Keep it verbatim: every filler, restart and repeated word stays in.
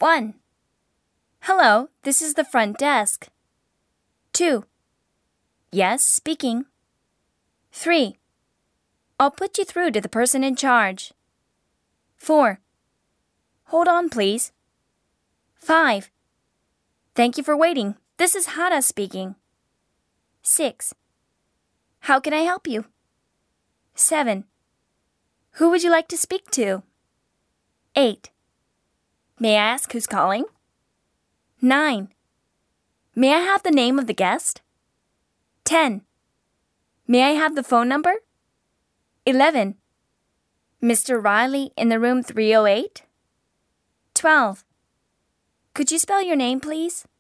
one. Hello, this is the front desk. two. Yes, speaking. three. I'll put you through to the person in charge. four. Hold on, please. five. Thank you for waiting. This is Hara speaking. six. How can I help you? seven. Who would you like to speak to? eight. May I ask who's calling? nine. May I have the name of the guest? ten. May I have the phone number? eleven. Mister Riley in the room three oh eight? twelve. Could you spell your name, please?